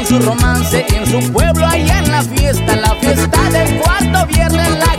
su romance en su pueblo, allá en la fiesta del cuarto viernes.